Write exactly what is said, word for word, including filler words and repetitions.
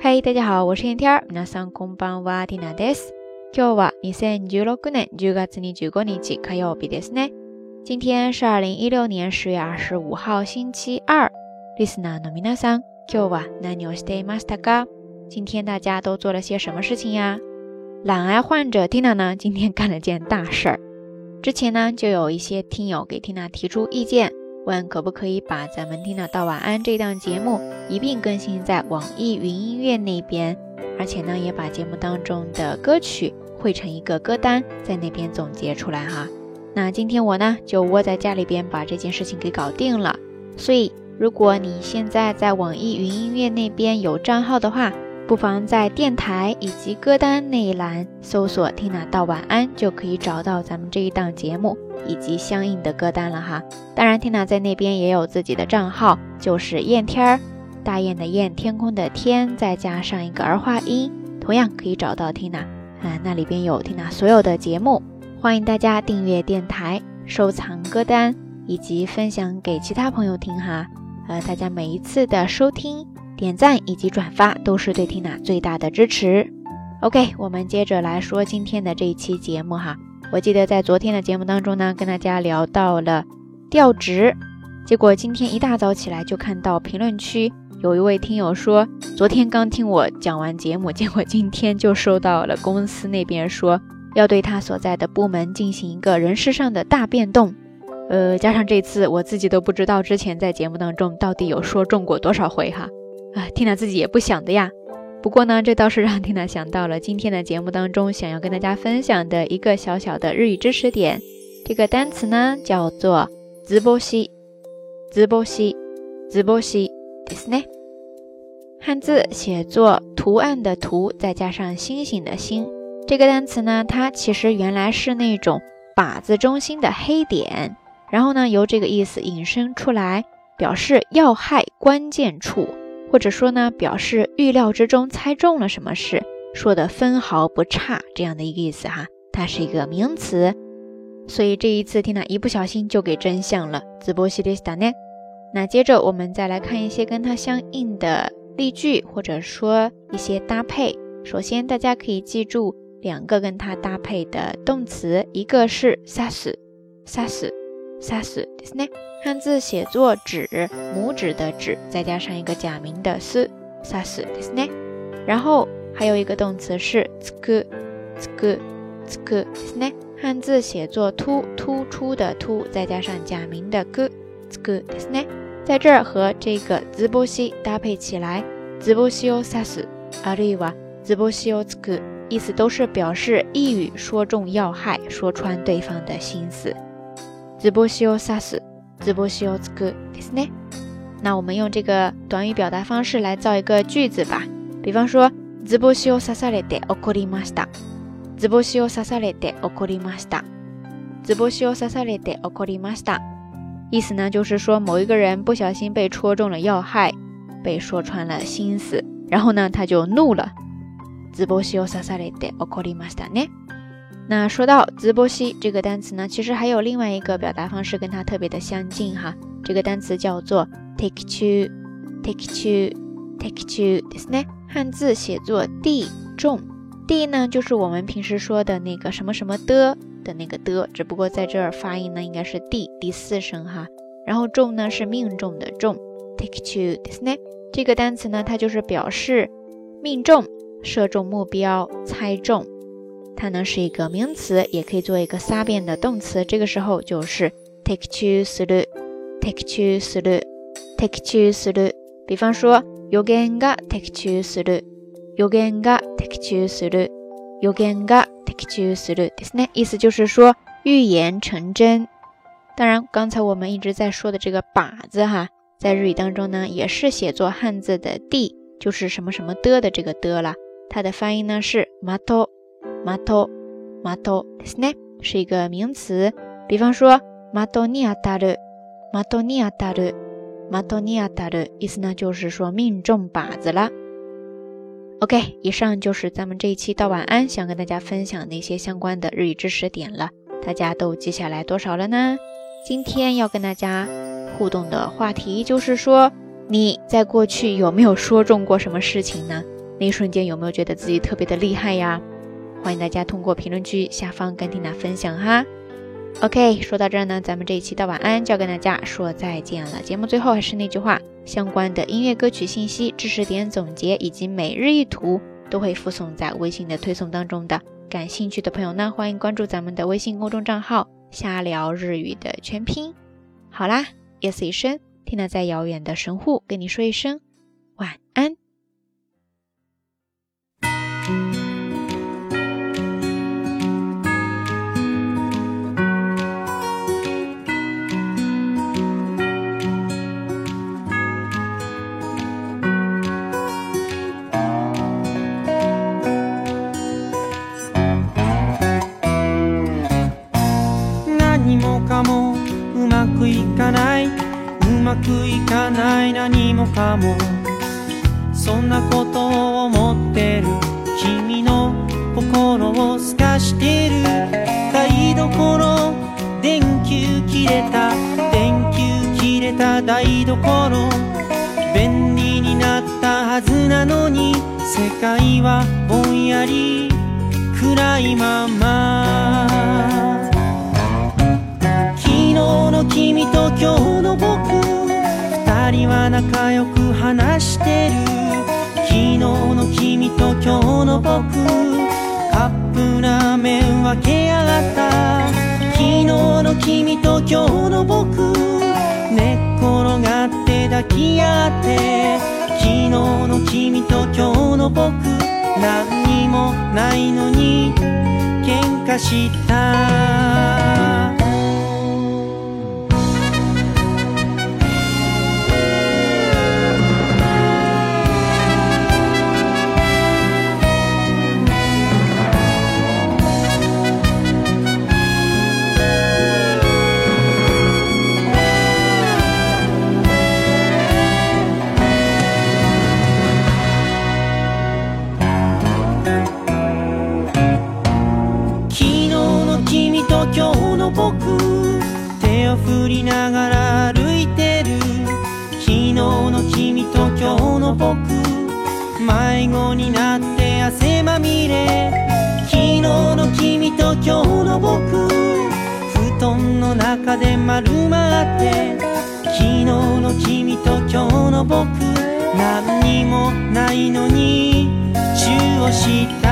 嗨，大家好，我是天天儿。皆さんこんばんは、ティナです。今日はにせんじゅうろくねんじゅうがつにじゅうごにち火曜日ですね。今天是二零一六年十月二十五号星期二。リスナーの皆さん、今日は何をしていましたか？今天大家都做了些什么事情呀？懒癌患者 Tina 呢，今天干了件大事儿。之前呢，就有一些听友给 Tina 提出意见，问可不可以把咱们 Tina 道晚安这档节目一并更新在网易云音乐那边，而且呢，也把节目当中的歌曲汇成一个歌单，在那边总结出来哈。那今天我呢，就窝在家里边把这件事情给搞定了。所以，如果你现在在网易云音乐那边有账号的话，不妨在电台以及歌单那一栏搜索 Tina 道晚安，就可以找到咱们这一档节目以及相应的歌单了哈。当然 Tina 在那边也有自己的账号，就是燕天儿，大雁的雁，天空的天，再加上一个儿化音，同样可以找到 Tina、呃、那里边有 Tina 所有的节目，欢迎大家订阅电台，收藏歌单以及分享给其他朋友听哈。呃，大家每一次的收听、点赞以及转发都是对 Tina 最大的支持。 OK， 我们接着来说今天的这一期节目哈。我记得在昨天的节目当中呢，跟大家聊到了调职，结果今天一大早起来就看到评论区有一位听友说，昨天刚听我讲完节目，结果今天就收到了公司那边说要对他所在的部门进行一个人事上的大变动。呃，加上这次我自己都不知道之前在节目当中到底有说中过多少回哈。啊 Tina 自己也不想的呀。不过呢，这倒是让 Tina 想到了今天的节目当中想要跟大家分享的一个小小的日语知识点。这个单词呢叫做図星，図星，図星ですね。汉字写作图案的图再加上星星的星。这个单词呢，它其实原来是那种靶子中心的黑点，然后呢由这个意思引申出来，表示要害关键处，或者说呢表示预料之中猜中了什么事，说的分毫不差这样的一个意思哈。它是一个名词，所以这一次 Tina 一不小心就给真相了。図星でしたね。那接着我们再来看一些跟它相应的例句，或者说一些搭配。首先大家可以记住两个跟它搭配的动词，一个是刺す、刺す、刺すですね。汉字写作指，拇指的指，再加上一个假名的す、刺すですね。然后还有一个动词是つく、つく、つくですね。汉字写作突，突出的突，再加上假名的く、つくですね。在这儿和这个図星搭配起来，図星を刺す、あるいは図星をつく，意思都是表示一语说中要害，说穿对方的心思。図星を刺す、図星をつくですね。那我们用这个短语表达方式来造一个句子吧。比方说図星を刺されて怒りました。図星を刺されて怒りました。図星を刺されて怒りました。意思呢就是说某一个人不小心被戳中了要害，被说穿了心思，然后呢他就怒了。図星を刺されて怒りましたね。那说到図星这个单词呢，其实还有另外一个表达方式跟它特别的相近哈。这个单词叫做的中、的中、的中ですね。汉字写作地中，地呢就是我们平时说的那个什么什么的的那个的，只不过在这儿发音呢应该是地第四声哈。然后中呢是命中的中，的中ですね。这个单词呢它就是表示命中、射中目標、猜中。它呢是一个名词，也可以做一个撒变的动词，这个时候就是的中する、的中する、的中する。比方说予言が的中する、予言が的中する、予言が的中するですね。意思就是说预言成真。当然刚才我们一直在说的这个靶子哈，在日语当中呢也是写作汉字的地，就是什么什么的的这个的了。它的发音呢是的、的、的ですね，是一个名词。比方说的に当たる、的に当たる、的に当たる，意思呢就是说命中靶子了。 OK， 以上就是咱们这一期道晚安想跟大家分享的一些相关的日语知识点了，大家都记下来多少了呢？今天要跟大家互动的话题就是说，你在过去有没有说中过什么事情呢？ 那一瞬间有没有觉得自己特别的厉害呀？欢迎大家通过评论区下方跟缇娜分享哈。OK， 说到这儿呢，咱们这一期的晚安就要跟大家说再见了。节目最后还是那句话，相关的音乐歌曲信息、知识点总结以及每日一图都会附送在微信的推送当中的。感兴趣的朋友呢，欢迎关注咱们的微信公众账号瞎聊日语的全拼。好啦，夜色已深，缇娜在遥远的神户跟你说一声晚安。 何もかもうまくいかない、うまくいかない何もかも、そんなことを思ってる君の心を透かしてる。台所電球切れた、電球切れた台所、便利になったはずなのに世界はぼんやり暗いまま。昨日の君と今日の僕、二人は仲良く話してる。昨日の君と今日の僕、カップラーメン分けやがった。昨日の君と今日の僕、寝っ転がって抱き合って。昨日の君と今日の僕、何にもないのに喧嘩した。今日の僕、手を振りながら歩いてる。昨日の君と今日の僕、迷子になって汗まみれ。昨日の君と今日の僕、布団の中で丸まって。昨日の君と今日の僕、何にもないのにチューをした。